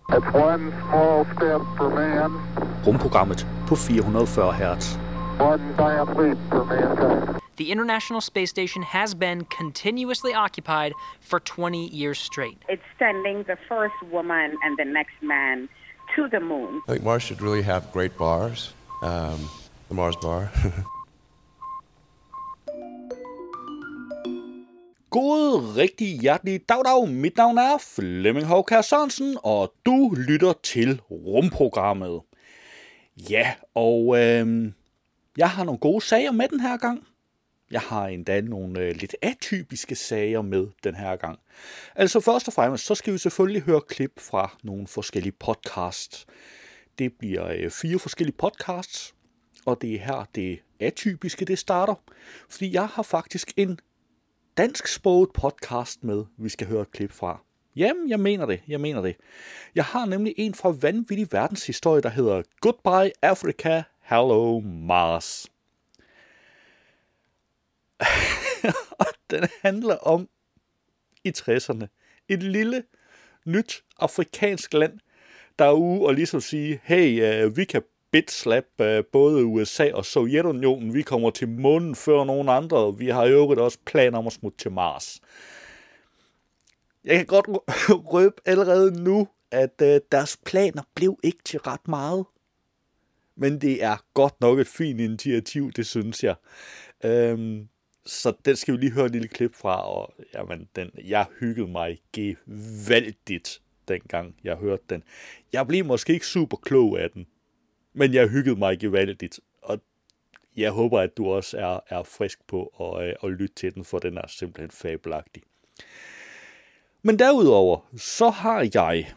It's one small step for man. Rumprogrammet på 440 Hz. One giant leap for mankind. The International Space Station has been continuously occupied for 20 years straight. It's sending the first woman and the next man to the moon. I think Mars should really have great bars. The Mars bar. God, rigtig hjertelig dag. Mit navn er Flemming Hovkær Sørensen, og du lytter til Rumprogrammet. Ja, og jeg har nogle gode sager med den her gang. Jeg har endda nogle lidt atypiske sager med den her gang. Altså først og fremmest, så skal vi selvfølgelig høre klip fra nogle forskellige podcasts. Det bliver 4 forskellige podcasts, og det er her det atypiske det starter. Fordi jeg har faktisk en dansksproget podcast med, vi skal høre et klip fra. Jamen, jeg mener det. Jeg har nemlig en fra Vanvittig Verdenshistorie, der hedder Goodbye Africa, Hello Mars. Og den handler om i 60'erne. Et lille, nyt afrikansk land, der er ude og ligesom sige, hey, vi kan bitslap både USA og Sovjetunionen. Vi kommer til månen før nogen andre, og vi har jo også planer om at smutte til Mars. Jeg kan godt røbe allerede nu, at deres planer blev ikke til ret meget. Men det er godt nok et fint initiativ, det synes jeg. Så den skal vi lige høre et lille klip fra, og jamen, jeg hyggede mig gevaldigt, dengang jeg hørte den. Jeg blev måske ikke super klog af den, men jeg hyggede mig gevaldigt, og jeg håber, at du også er frisk på at lytte til den, for den er simpelthen fabelagtig. Men derudover, så har jeg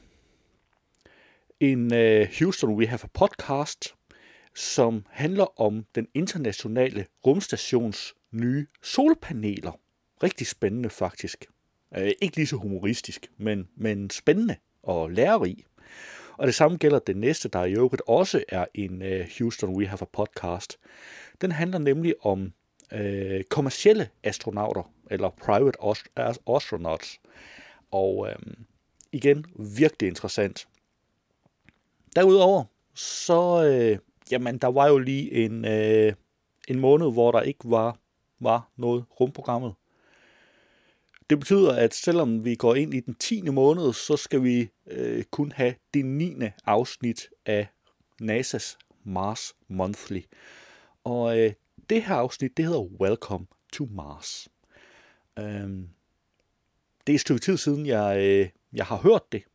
en Houston We Have a Podcast, som handler om den internationale rumstations nye solpaneler. Rigtig spændende faktisk. Ikke lige så humoristisk, men spændende og lærerig. Og det samme gælder den næste, der i øvrigt også er en Houston We Have a Podcast. Den handler nemlig om kommercielle astronauter, eller private astronauts. Og igen, virkelig interessant. Derudover, så der var jo lige en måned, hvor der ikke var noget rumprogrammet. Det betyder, at selvom vi går ind i den 10. måned, så skal vi kun have det 9. afsnit af NASA's Mars Monthly. Og det her afsnit, det hedder Welcome to Mars. Det er et stykke tid siden, jeg har hørt det.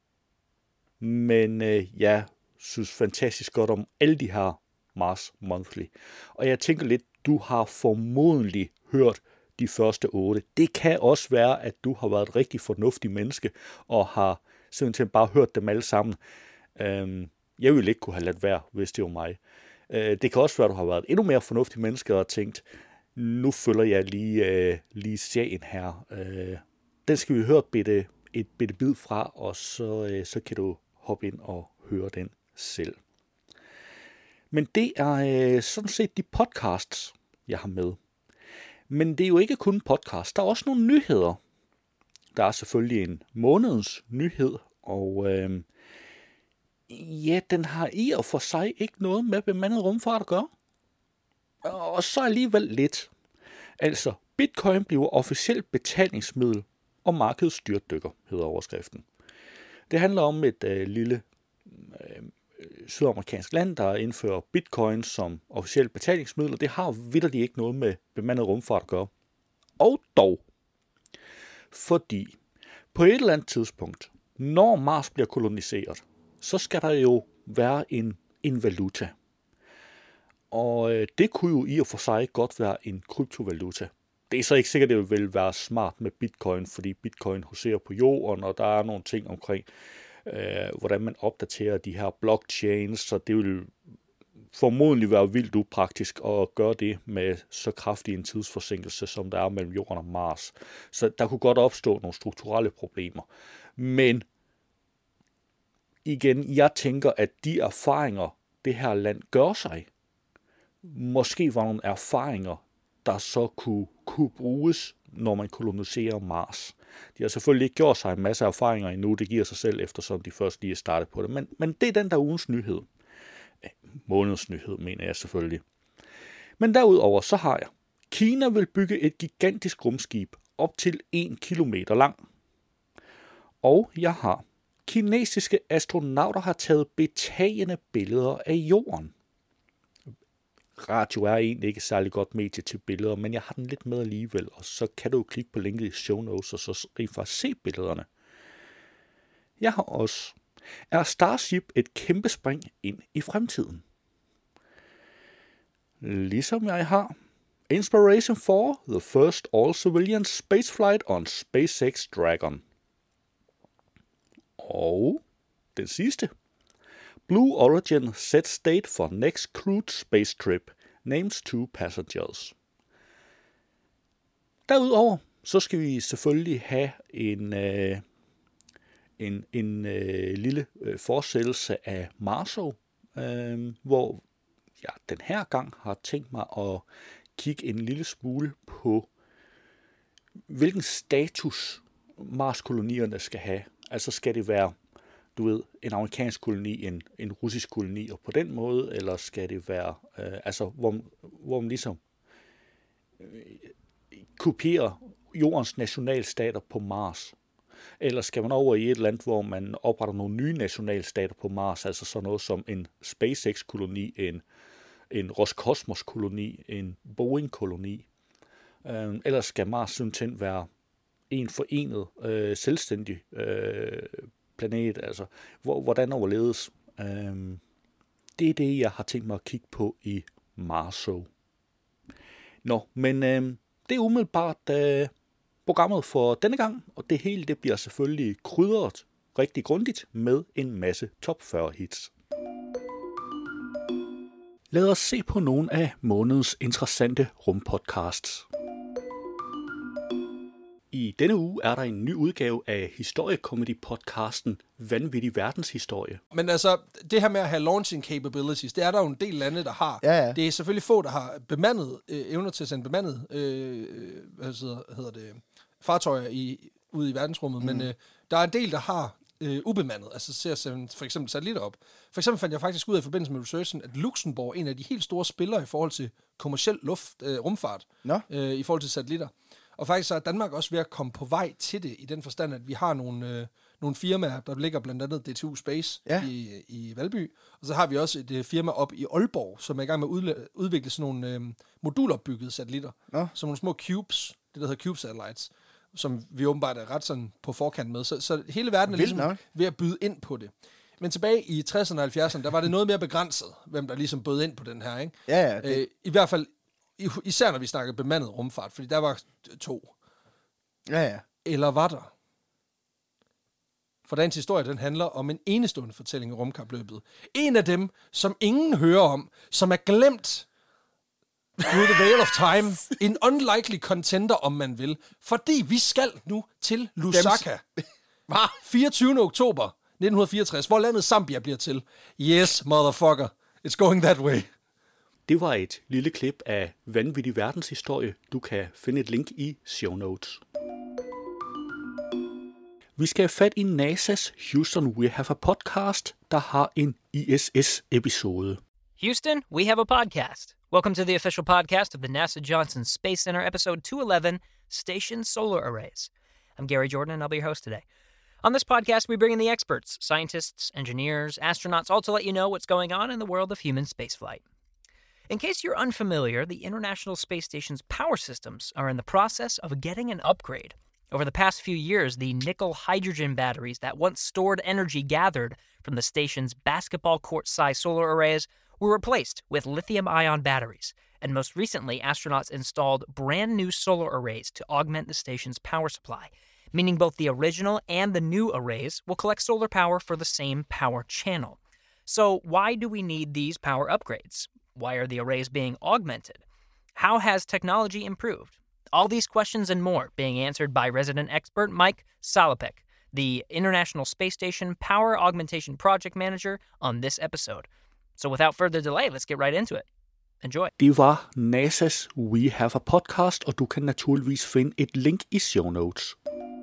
Men jeg synes fantastisk godt om alle de her Mars Monthly. Og jeg tænker lidt, du har formodentlig hørt de første 8. Det kan også være, at du har været et rigtig fornuftigt menneske, og har simpelthen bare hørt dem alle sammen. Jeg ville ikke kunne have ladt være, hvis det var mig. Det kan også være, at du har været et endnu mere fornuftigt menneske, og tænkt, nu følger jeg lige serien her. Den skal vi høre et bitte bid fra, og så kan du hoppe ind og høre den selv. Men det er sådan set de podcasts, jeg har med. Men det er jo ikke kun podcast. Der er også nogle nyheder. Der er selvfølgelig en månedens nyhed, og den har i og for sig ikke noget med bemandet rumfart at gøre. Og så alligevel lidt. Altså, Bitcoin bliver officielt betalingsmiddel, og markedet styrtdykker, hedder overskriften. Det handler om et lille sydamerikansk land, der indfører bitcoin som officielt betalingsmiddel, og det har vitterligt ikke noget med bemandet rumfart at gøre. Og dog, fordi på et eller andet tidspunkt, når Mars bliver koloniseret, så skal der jo være en valuta. Og det kunne jo i og for sig godt være en kryptovaluta. Det er så ikke sikkert, at det vil være smart med bitcoin, fordi bitcoin huserer på jorden, og der er nogle ting omkring, hvordan man opdaterer de her blockchains, så det vil formodentlig være vildt upraktisk at gøre det med så kraftig en tidsforsinkelse, som der er mellem jorden og Mars. Så der kunne godt opstå nogle strukturelle problemer. Men igen, jeg tænker, at de erfaringer, det her land gør sig, måske var nogle erfaringer, der så kunne bruges, når man koloniserer Mars. De har selvfølgelig ikke gjort sig en masse erfaringer endnu, det giver sig selv, eftersom de først lige er startet på det. Men det er den der ugens nyhed. Månedens nyhed, mener jeg selvfølgelig. Men derudover så har jeg. Kina vil bygge et gigantisk rumskib op til 1 kilometer lang. Og jeg har. Kinesiske astronauter har taget betagende billeder af jorden. Radio er egentlig ikke særlig godt medie til billeder, men jeg har den lidt med alligevel, og så kan du klikke på linket i show notes, og så rent faktisk se billederne. Jeg har også. Er Starship et kæmpe spring ind i fremtiden? Ligesom jeg har. Inspiration for the first all-civilian spaceflight on SpaceX Dragon. Og den sidste. Blue Origin sets date for next crewed space trip. Names 2 passengers. Derudover så skal vi selvfølgelig have en lille fortsættelse af Marso, hvor jeg den her gang har tænkt mig at kigge en lille smule på, hvilken status Mars-kolonierne skal have. Altså skal det være, du ved, en amerikansk koloni, en russisk koloni, og på den måde, eller skal det være, hvor man ligesom kopierer jordens nationalstater på Mars? Eller skal man over i et land, hvor man opretter nogle nye nationalstater på Mars, altså sådan noget som en SpaceX-koloni, en Roskosmos-koloni, en Boeing-koloni? Eller skal Mars simpelthen være en forenet, selvstændig planet? Altså, hvordan overledes? Det er det, jeg har tænkt mig at kigge på i Marso. Nå, men det er umiddelbart programmet for denne gang, og det hele det bliver selvfølgelig krydret rigtig grundigt med en masse top 40 hits. Lad os se på nogle af månedens interessante rumpodcasts. I denne uge er der en ny udgave af historiekomedy-podcasten Vanvittig verdenshistorie. Men altså, det her med at have launching capabilities, det er der jo en del lande, der har. Ja. Det er selvfølgelig få, der har bemandet, evner til at sende bemandet fartøjer ude i verdensrummet, men der er en del, der har ubemandet, altså til at sende for eksempel satellitter op. For eksempel fandt jeg faktisk ud af i forbindelse med researchen, at Luxembourg er en af de helt store spillere i forhold til kommerciel rumfart, i forhold til satellitter. Og faktisk så er Danmark også ved at komme på vej til det, i den forstand, at vi har nogle firmaer, der ligger blandt andet DTU Space i Valby, og så har vi også et firma op i Aalborg, som er i gang med at udvikle sådan nogle modulopbyggede satellitter, som nogle små cubes, det der hedder Cube Satellites, som vi åbenbart er ret sådan på forkant med. Så hele verden er ligesom ved at byde ind på det. Men tilbage i 60'erne og 70'erne, der var det noget mere begrænset, hvem der ligesom bød ind på den her, ikke? Ja. I hvert fald, især når vi snakkede bemandet rumfart, fordi der var 2. Ja. Eller var der? For dagens historie, den handler om en enestående fortælling i rumkapløbet. En af dem, som ingen hører om, som er glemt through the veil of time. En unlikely contender, om man vil. Fordi vi skal nu til Lusaka. 24. oktober 1964, hvor landet Zambia bliver til. Yes, motherfucker. It's going that way. Det var et lille klip af Vanvittig verdenshistorie. Du kan finde et link i show notes. Vi skal have fat i NASA's Houston We Have a Podcast, der har en ISS-episode. Houston, we have a podcast. Welcome to the official podcast of the NASA Johnson Space Center, episode 211, Station Solar Arrays. I'm Gary Jordan, and I'll be your host today. On this podcast, we bring in the experts, scientists, engineers, astronauts, all to let you know what's going on in the world of human spaceflight. In case you're unfamiliar, the International Space Station's power systems are in the process of getting an upgrade. Over the past few years, the nickel-hydrogen batteries that once stored energy gathered from the station's basketball court-sized solar arrays were replaced with lithium-ion batteries, and most recently, astronauts installed brand new solar arrays to augment the station's power supply, meaning both the original and the new arrays will collect solar power for the same power channel. So why do we need these power upgrades? Why are the arrays being augmented? How has technology improved? All these questions and more being answered by resident expert Mike Salopek, the International Space Station Power Augmentation Project Manager, on this episode. So without further delay, let's get right into it. Enjoy. Det var NASA's We Have a Podcast, og du kan naturligvis finde et link i show notes.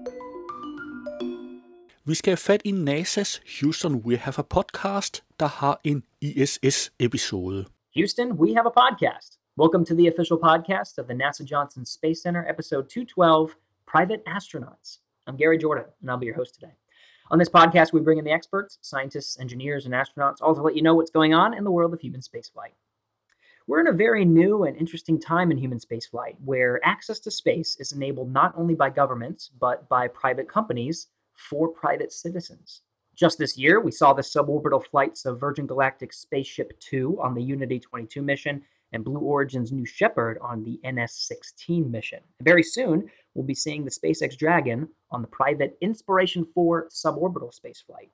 Vi skal have fat i NASA's Houston We Have a Podcast, der har en ISS-episode. Houston, we have a podcast. Welcome to the official podcast of the NASA Johnson Space Center, episode 212, Private Astronauts. I'm Gary Jordan, and I'll be your host today. On this podcast, we bring in the experts, scientists, engineers, and astronauts, all to let you know what's going on in the world of human spaceflight. We're in a very new and interesting time in human spaceflight, where access to space is enabled not only by governments, but by private companies for private citizens. Just this year, we saw the suborbital flights of Virgin Galactic's Spaceship Two on the Unity 22 mission and Blue Origin's New Shepard on the NS-16 mission. Very soon, we'll be seeing the SpaceX Dragon on the private Inspiration 4 suborbital spaceflight.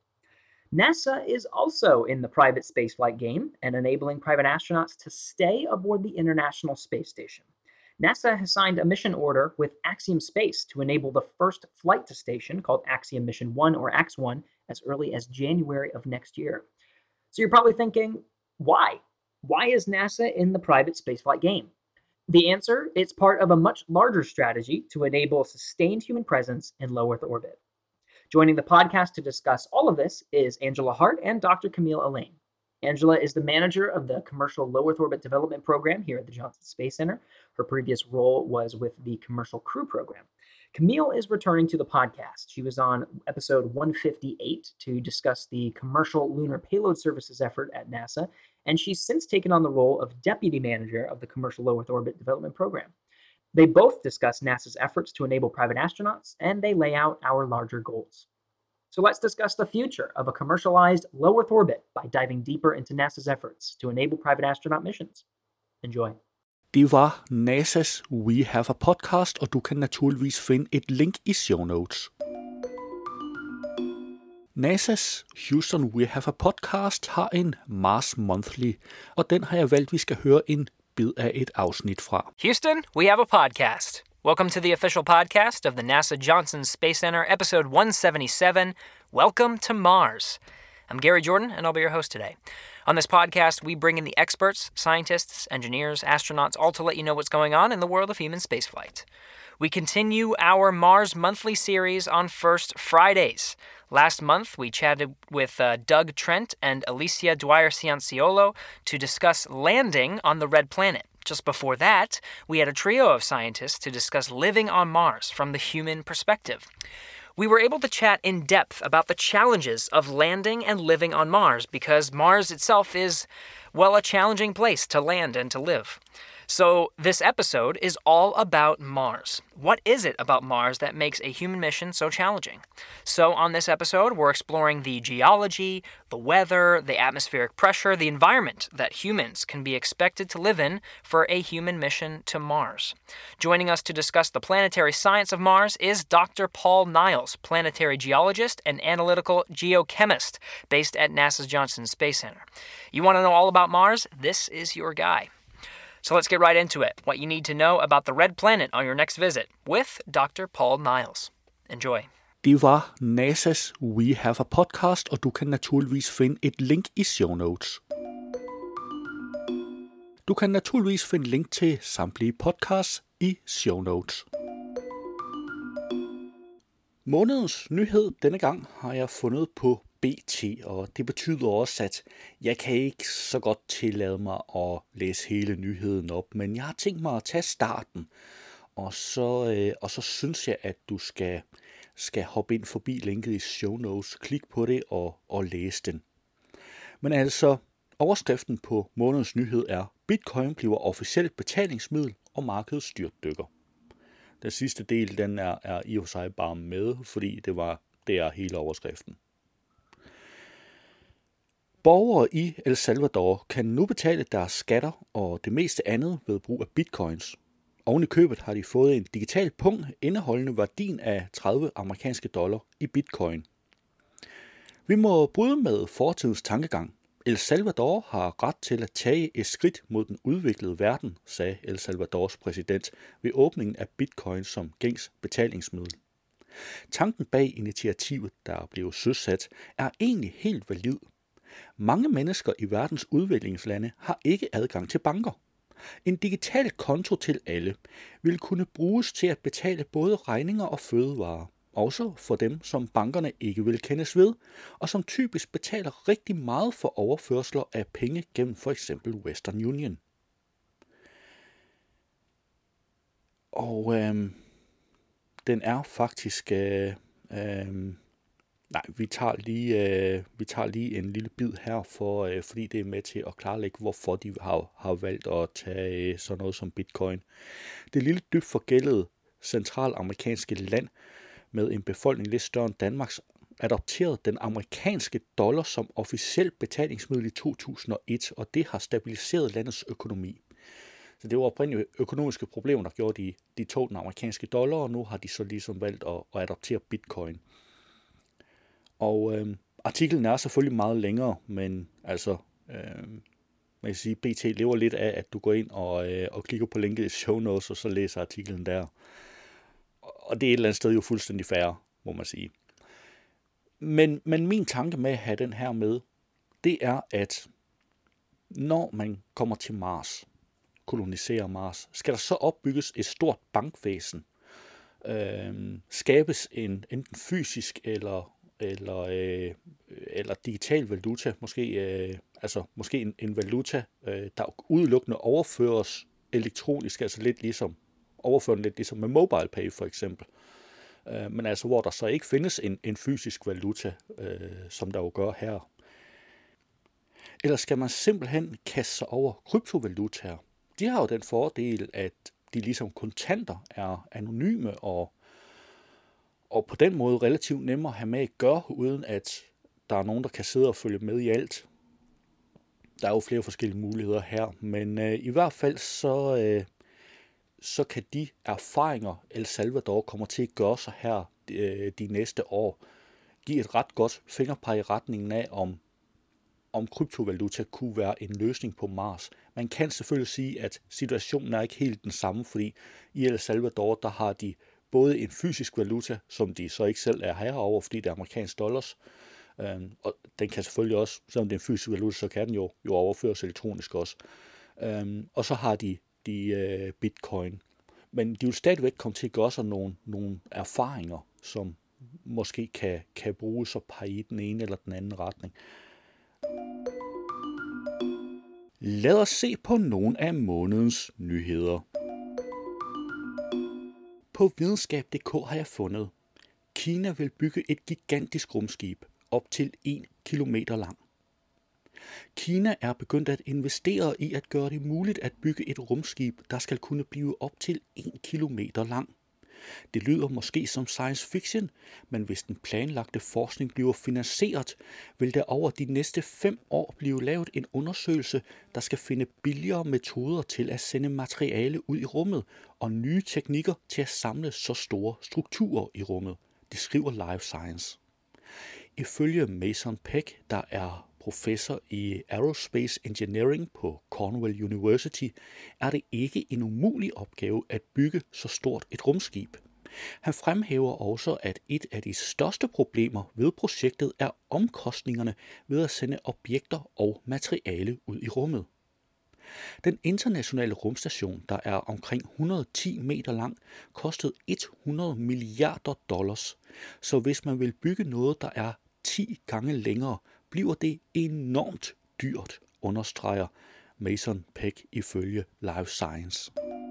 NASA is also in the private spaceflight game and enabling private astronauts to stay aboard the International Space Station. NASA has signed a mission order with Axiom Space to enable the first flight to station, called Axiom Mission 1 or AX-1, as early as January of next year. So you're probably thinking, why? Why is NASA in the private spaceflight game? The answer, it's part of a much larger strategy to enable sustained human presence in low Earth orbit. Joining the podcast to discuss all of this is Angela Hart and Dr. Camille Allain. Angela is the manager of the Commercial Low Earth Orbit Development Program here at the Johnson Space Center. Her previous role was with the Commercial Crew Program. Camille is returning to the podcast. She was on episode 158 to discuss the Commercial Lunar Payload Services effort at NASA, and she's since taken on the role of Deputy Manager of the Commercial Low Earth Orbit Development Program. They both discuss NASA's efforts to enable private astronauts, and they lay out our larger goals. So let's discuss the future of a commercialized low Earth orbit by diving deeper into NASA's efforts to enable private astronaut missions. Enjoy. Det var NASA's We Have a Podcast, og du kan naturligvis finde et link i show notes. NASA's Houston We Have a Podcast har en Mars Monthly, og den har jeg valgt, vi skal høre en bid af et afsnit fra. Houston, we have a podcast. Welcome to the official podcast of the NASA Johnson Space Center, episode 177, Welcome to Mars. I'm Gary Jordan, and I'll be your host today. On this podcast, we bring in the experts, scientists, engineers, astronauts, all to let you know what's going on in the world of human spaceflight. We continue our Mars Monthly series on First Fridays. Last month, we chatted with Doug Trent and Alicia Dwyer-Cianciolo to discuss landing on the Red Planet. Just before that, we had a trio of scientists to discuss living on Mars from the human perspective. We were able to chat in depth about the challenges of landing and living on Mars because Mars itself is, well, a challenging place to land and to live. So this episode is all about Mars. What is it about Mars that makes a human mission so challenging? So on this episode, we're exploring the geology, the weather, the atmospheric pressure, the environment that humans can be expected to live in for a human mission to Mars. Joining us to discuss the planetary science of Mars is Dr. Paul Niles, planetary geologist and analytical geochemist based at NASA's Johnson Space Center. You want to know all about Mars? This is your guy. So let's get right into it. What you need to know about the Red Planet on your next visit with Dr. Paul Niles. Enjoy. Det var NASA's We Have a Podcast, og du kan naturligvis finde et link i show notes. Du kan naturligvis finde link til samtlige podcasts i show notes. Månedens nyhed denne gang har jeg fundet på BT, og det betyder også, at jeg kan ikke så godt tillade mig at læse hele nyheden op, men jeg har tænkt mig at tage starten, og så synes jeg, at du skal hoppe ind forbi linket i show notes, klik på det og læse den. Men altså, overskriften på månedens nyhed er, Bitcoin bliver officielt betalingsmiddel, og markedet styrtdykker. Den sidste del, den er i og for sig bare med, fordi det er hele overskriften. Borgere i El Salvador kan nu betale deres skatter og det meste andet ved brug af bitcoins. Oven i købet har de fået en digital punkt indeholdende værdien af 30 amerikanske dollar i bitcoin. Vi må bryde med fortidens tankegang. El Salvador har ret til at tage et skridt mod den udviklede verden, sagde El Salvadors præsident ved åbningen af bitcoin som gængs betalingsmiddel. Tanken bag initiativet, der er blevet søsat, er egentlig helt valid. Mange mennesker i verdens udviklingslande har ikke adgang til banker. En digital konto til alle vil kunne bruges til at betale både regninger og fødevarer, også for dem, som bankerne ikke vil kendes ved, og som typisk betaler rigtig meget for overførsler af penge gennem for eksempel Western Union. Og den er faktisk... vi tager lige en lille bid her, fordi det er med til at klarlægge, hvorfor de har valgt at tage sådan noget som bitcoin. Det lille dybt forgældede centralamerikanske land med en befolkning lidt større end Danmarks adopterede den amerikanske dollar som officiel betalingsmiddel i 2001, og det har stabiliseret landets økonomi. Så det var oprindeligt økonomiske problemer, der gjorde, de tog den amerikanske dollar, og nu har de så ligesom valgt at adoptere bitcoin. Og artiklen er selvfølgelig meget længere, men altså, man kan sige, BT lever lidt af, at du går ind og klikker på linket i show notes, og så læser artiklen der. Og det er et eller andet sted jo fuldstændig fair, må man sige. Men min tanke med at have den her med, det er, at når man kommer til Mars, koloniserer Mars, skal der så opbygges et stort bankvæsen, skabes enten fysisk eller digital valuta, måske en valuta, der udelukkende overføres elektronisk, altså lidt ligesom med mobile pay for eksempel. Men altså hvor der så ikke findes en fysisk valuta, som der jo gør her. Eller skal man simpelthen kaste sig over kryptovalutaer? De har jo den fordel, at de ligesom kontanter er anonyme og på den måde relativt nemmere at have med at gøre, uden at der er nogen, der kan sidde og følge med i alt. Der er jo flere forskellige muligheder her, men i hvert fald så kan de erfaringer, El Salvador kommer til at gøre sig her de næste år, give et ret godt fingerpeg i retningen af, om kryptovaluta kunne være en løsning på Mars. Man kan selvfølgelig sige, at situationen er ikke helt den samme, fordi i El Salvador, der har de både en fysisk valuta, som de så ikke selv er herover, fordi det er amerikansk dollars, og den kan selvfølgelig også, selvom det er en fysisk valuta, så kan den jo overføres elektronisk også. Og så har de bitcoin. Men de vil stadigvæk komme til at gøre sig nogle erfaringer, som måske kan bruges og pege i den ene eller den anden retning. Lad os se på nogle af månedens nyheder. På videnskab.dk har jeg fundet, Kina vil bygge et gigantisk rumskib op til 1 kilometer lang. Kina er begyndt at investere i at gøre det muligt at bygge et rumskib, der skal kunne blive op til 1 kilometer lang. Det lyder måske som science fiction, men hvis den planlagte forskning bliver finansieret, vil der over de næste 5 år blive lavet en undersøgelse, der skal finde billigere metoder til at sende materiale ud i rummet og nye teknikker til at samle så store strukturer i rummet. Det skriver Live Science. Ifølge Mason Peck, der er professor i Aerospace Engineering på Cornell University, er det ikke en umulig opgave at bygge så stort et rumskib. Han fremhæver også, at et af de største problemer ved projektet er omkostningerne ved at sende objekter og materiale ud i rummet. Den internationale rumstation, der er omkring 110 meter lang, kostede $100 milliarder, så hvis man vil bygge noget, der er 10 gange længere, bliver det enormt dyrt, understreger Mason Peck ifølge Live Science.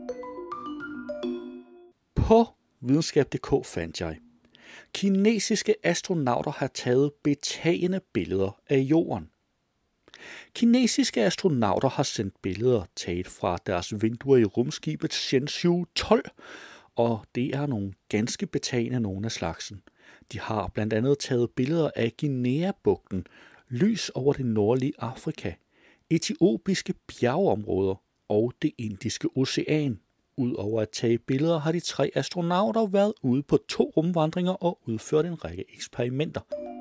På videnskab.dk fandt jeg, kinesiske astronauter har taget betagende billeder af jorden. Kinesiske astronauter har sendt billeder taget fra deres vinduer i rumskibet Shenzhou 12, og det er nogle ganske betagende nogle af slagsen. De har blandt andet taget billeder af Guinea-bugten, lys over det nordlige Afrika, etiopiske bjergeområder og det Indiske Ocean. Udover at tage billeder har de 3 astronauter været ude på 2 rumvandringer og udført en række eksperimenter.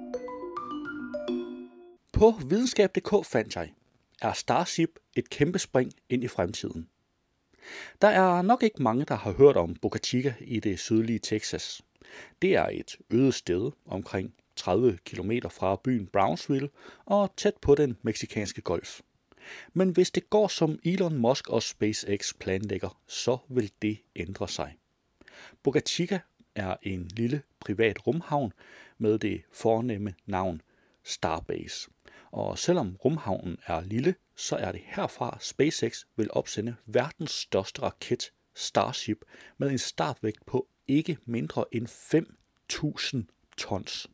På videnskab.dk fandt jeg, er Starship et kæmpe spring ind i fremtiden. Der er nok ikke mange, der har hørt om Boca Chica i det sydlige Texas. Det er et øde sted omkring 30 km fra byen Brownsville og tæt på den meksikanske golf. Men hvis det går som Elon Musk og SpaceX planlægger, så vil det ændre sig. Boca Chica er en lille privat rumhavn med det fornemme navn Starbase. Og selvom rumhavnen er lille, så er det herfra SpaceX vil opsende verdens største raket Starship med en startvægt på ikke mindre end 5.000 tons.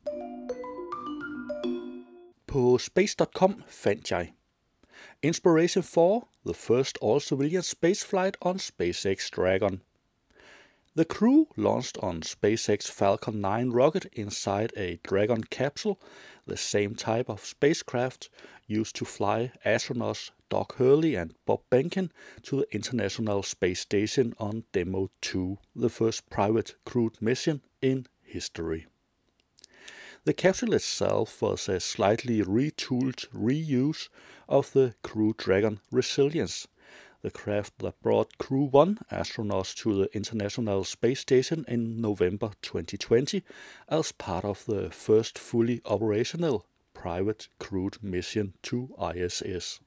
På space.com fandt jeg Inspiration for the first all-civilian spaceflight on SpaceX Dragon. The crew launched on SpaceX Falcon 9 rocket inside a Dragon capsule, the same type of spacecraft used to fly astronauts Doug Hurley and Bob Behnken to the International Space Station on Demo 2, the first private crewed mission in history. The capsule itself was a slightly retooled reuse of the Crew Dragon Resilience, the craft that brought Crew 1 astronauts to the International Space Station in November 2020 as part of the first fully operational private crewed mission to ISS.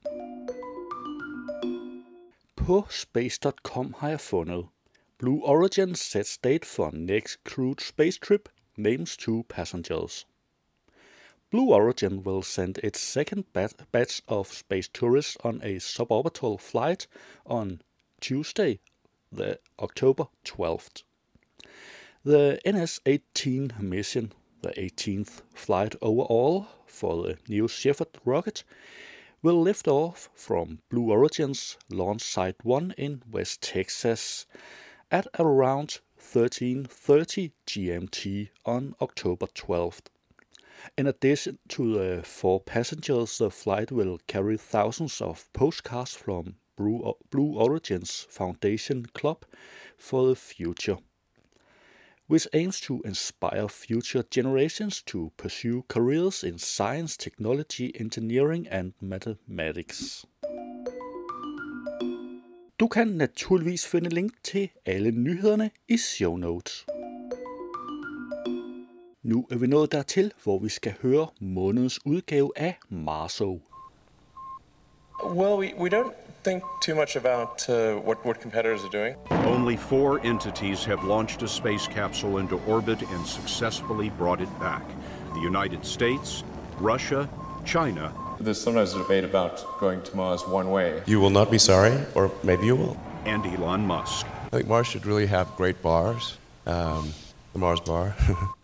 På space.com har jeg fundet Blue Origin sets date for next crewed space trip, names 2 passengers. Blue Origin will send its second batch of space tourists on a suborbital flight on Tuesday, the October 12th. The NS-18 mission, the 18th flight overall for the New Shepard rocket, will lift off from Blue Origin's launch site 1 in West Texas at around 13:30 GMT on October 12th. In addition to the 4 passengers, the flight will carry thousands of postcards from Blue Origin's Foundation Club for the Future, which aims to inspire future generations to pursue careers in science, technology, engineering and mathematics. Du kan naturligvis finde link til alle nyhederne i show notes. Nu er vi nået dertil, hvor vi skal høre månedens udgave af Marso. Well, we don't think too much about what competitors are doing. Only 4 entities have launched a space capsule into orbit and successfully brought it back. The United States, Russia, China. There's sometimes a debate about going to Mars one way. You will not be sorry, or maybe you will. And Elon Musk. I think Mars should really have great bars. The Mars bar.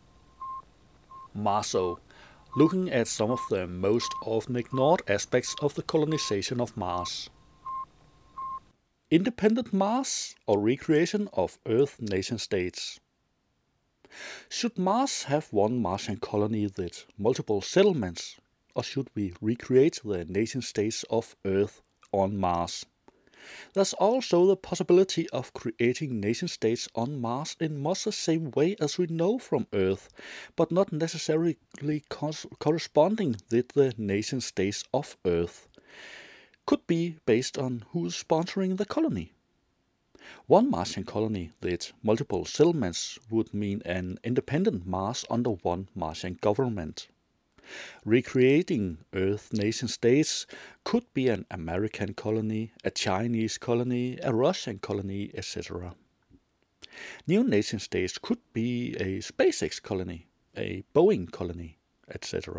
Marso, looking at some of the most often ignored aspects of the colonization of Mars. Independent Mars or recreation of Earth nation-states? Should Mars have one Martian colony with multiple settlements, or should we recreate the nation-states of Earth on Mars? There's also the possibility of creating nation-states on Mars in much the same way as we know from Earth, but not necessarily corresponding with the nation-states of Earth. Could be based on who's sponsoring the colony. One Martian colony with multiple settlements would mean an independent Mars under one Martian government. Recreating Earth nation-states could be an American colony, a Chinese colony, a Russian colony, etc. New nation-states could be a SpaceX colony, a Boeing colony, etc.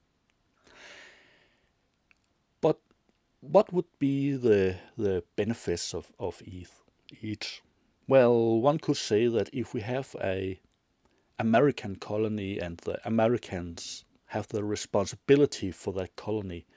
But what would be the benefits of each? Well, one could say that if we have a American colony and the Americans have the responsibility for that colony,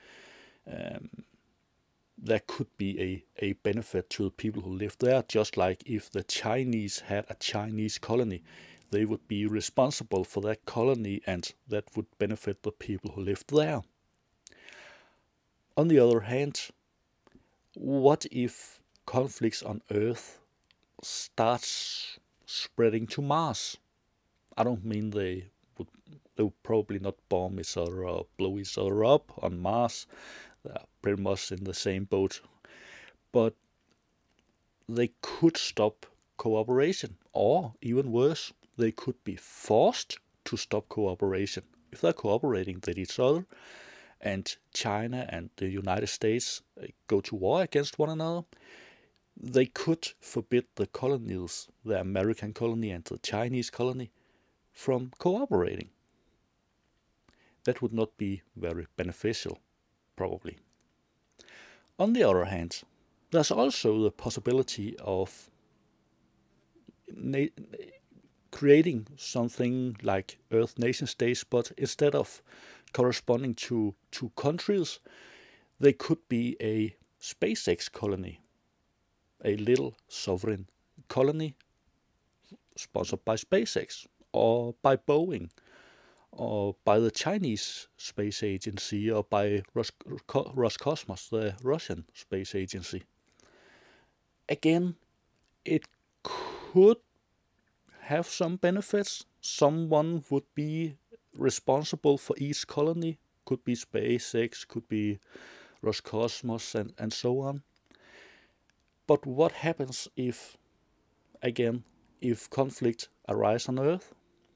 there could be a benefit to the people who live there, just like if the Chinese had a Chinese colony, they would be responsible for that colony and that would benefit the people who lived there. On the other hand, what if conflicts on Earth starts spreading to Mars? I don't mean they would probably not bomb each other or blow each other up on Mars. They're pretty much in the same boat. But they could stop cooperation, or even worse, they could be forced to stop cooperation. If they're cooperating with each other and China and the United States go to war against one another, they could forbid the colonies, the American colony and the Chinese colony, from cooperating. That would not be very beneficial, probably. On the other hand, there's also the possibility of creating something like Earth nation states, but instead of corresponding to two countries, they could be a SpaceX colony, a little sovereign colony sponsored by SpaceX or by Boeing or by the Chinese space agency or by Roscosmos, the Russian space agency. Again, it could have some benefits. Someone would be responsible for each colony. Could be SpaceX, could be Roscosmos, and so on. But what happens if conflict arises on Earth?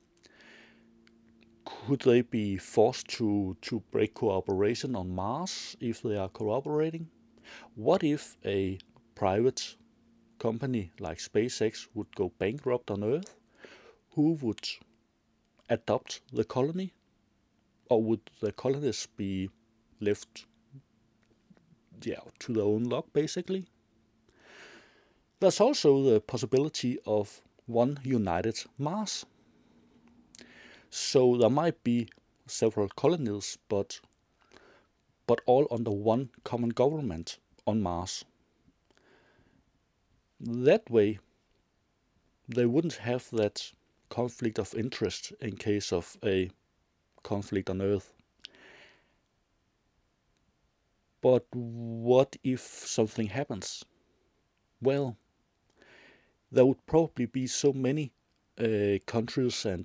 Could they be forced to break cooperation on Mars if they are cooperating? What if a private company like SpaceX would go bankrupt on Earth? Who would adopt the colony? Or would the colonists be left to their own luck, basically? There's also the possibility of one united Mars. So there might be several colonies, but all under one common government on Mars. That way, they wouldn't have that conflict of interest in case of a conflict on Earth. But what if something happens? Well, there would probably be so many countries and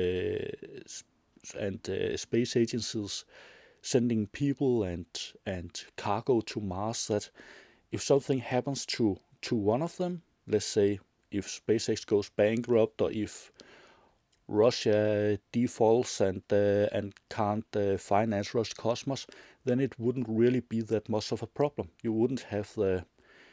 space agencies sending people and cargo to Mars that if something happens to one of them, let's say if SpaceX goes bankrupt or if Russia defaults and can't finance Roscosmos, then it wouldn't really be that much of a problem. You wouldn't have the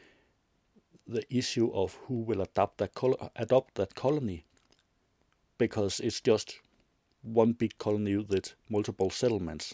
issue of who will adopt that colony, because it's just one big colony with multiple settlements.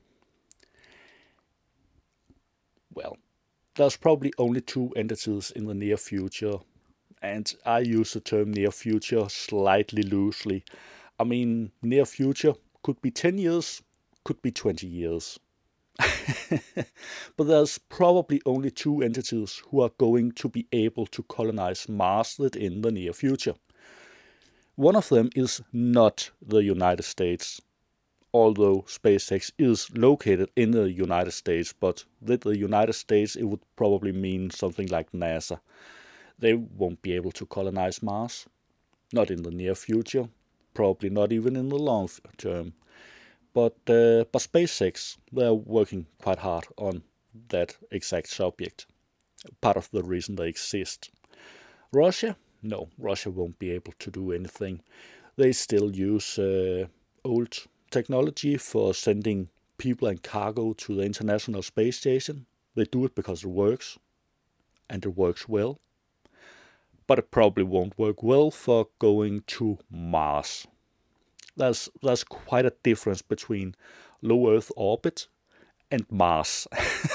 Well, there's probably only two entities in the near future, and I use the term near future slightly loosely. I mean, near future could be 10 years, could be 20 years. But there's probably only two entities who are going to be able to colonize Mars in the near future. One of them is not the United States, although SpaceX is located in the United States, but with the United States it would probably mean something like NASA. They won't be able to colonize Mars, not in the near future, probably not even in the long term. But SpaceX, they're working quite hard on that exact subject. Part of the reason they exist. Russia? No, Russia won't be able to do anything. They still use old technology for sending people and cargo to the International Space Station. They do it because it works, and it works well. But it probably won't work well for going to Mars. There's quite a difference between low Earth orbit and Mars.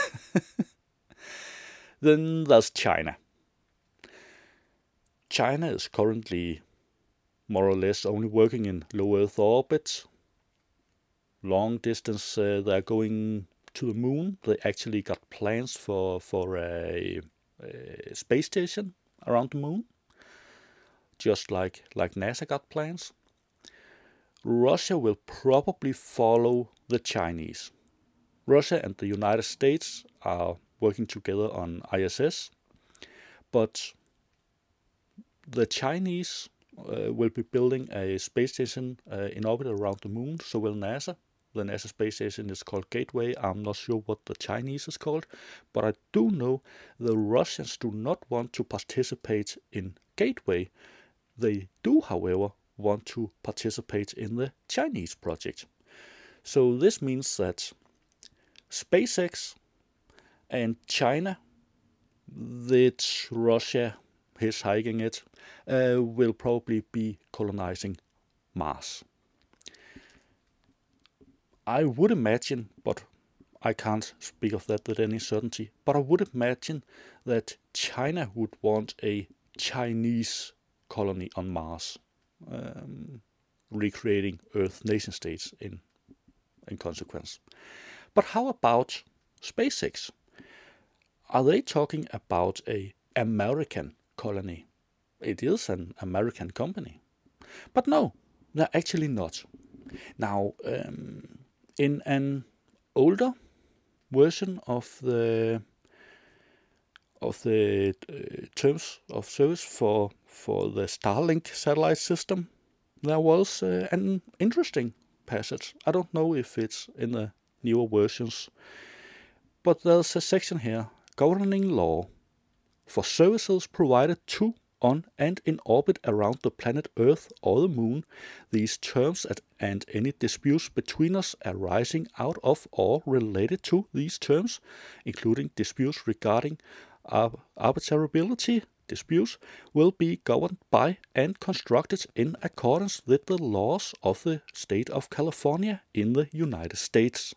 Then there's China. China is currently more or less only working in low Earth orbit. Long distance, they're going to the moon. They actually got plans for a space station around the moon, just like NASA got plans. Russia will probably follow the Chinese. Russia and the United States are working together on ISS, but the Chinese will be building a space station in orbit around the moon, so will NASA. The NASA space station is called Gateway. I'm not sure what the Chinese is called, but I do know the Russians do not want to participate in Gateway. They do, however, want to participate in the Chinese project. So this means that SpaceX and China, that Russia is hiking it, will probably be colonizing Mars. I would imagine, but I can't speak of that with any certainty, but I would imagine that China would want a Chinese colony on Mars, recreating Earth nation states in consequence. But how about SpaceX? Are they talking about a American colony? It is an American company. But no, they're actually not. Now, in an older version of the terms of service for the Starlink satellite system, there was an interesting passage. I don't know if it's in the newer versions, but there's a section here, governing law for services provided to, on, and in orbit around the planet Earth or the Moon. These terms and any disputes between us arising out of or related to these terms, including disputes regarding arbitrability disputes, will be governed by and constructed in accordance with the laws of the state of California in the United States.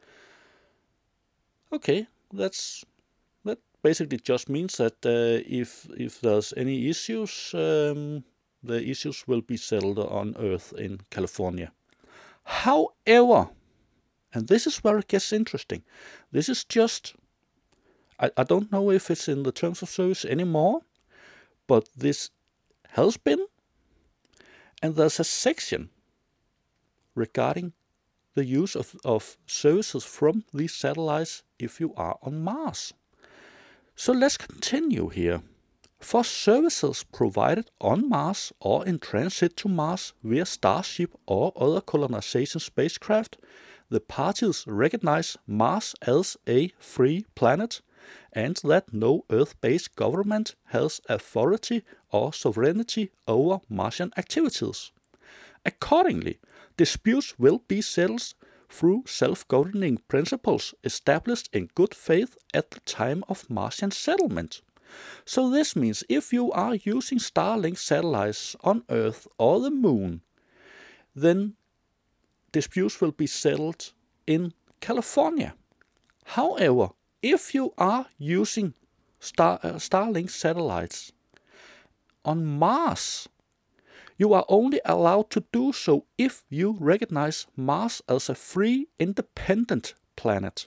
Okay, that basically just means that if there's any issues, the issues will be settled on Earth in California. However, and this is where it gets interesting, this is just, I don't know if it's in the terms of service anymore, but this has been, and there's a section regarding the use of services from these satellites if you are on Mars. So let's continue here. For services provided on Mars or in transit to Mars via Starship or other colonization spacecraft, the parties recognize Mars as a free planet and that no Earth-based government has authority or sovereignty over Martian activities. Accordingly, disputes will be settled through self-governing principles established in good faith at the time of Martian settlement. So this means if you are using Starlink satellites on Earth or the Moon, then disputes will be settled in California. However, if you are using Starlink satellites on Mars, you are only allowed to do so if you recognize Mars as a free, independent planet.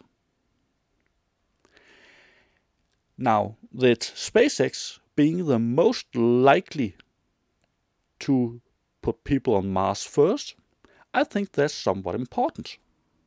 Now, with SpaceX being the most likely to put people on Mars first, I think that's somewhat important.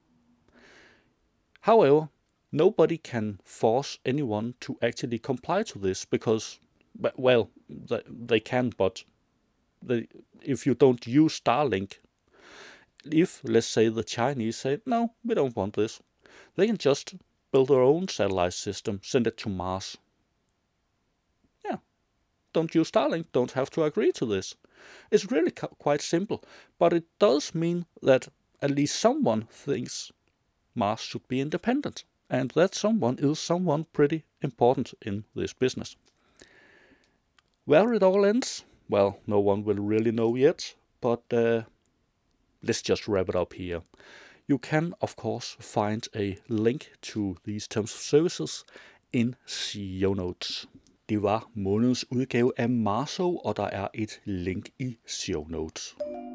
However, nobody can force anyone to actually comply to this because, well, they can, but if you don't use Starlink, if, let's say, the Chinese say, no, we don't want this, they can just build their own satellite system, send it to Mars. Yeah, don't use Starlink, don't have to agree to this. It's really quite simple, but it does mean that at least someone thinks Mars should be independent, and that someone is someone pretty important in this business. Where it all ends, well, no one will really know yet, but let's just wrap it up here. You can, of course, find a link to these terms of services in show notes. Det var månedens udgave af Marso, og der er et link i show notes.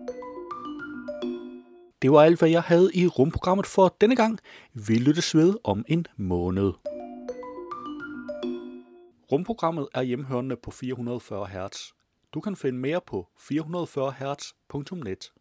Det var alt, hvad jeg havde i rumprogrammet for denne gang. Vi lyttes ved om en måned. Rumprogrammet er hjemhørende på 440 Hz. Du kan finde mere på 440hz.net.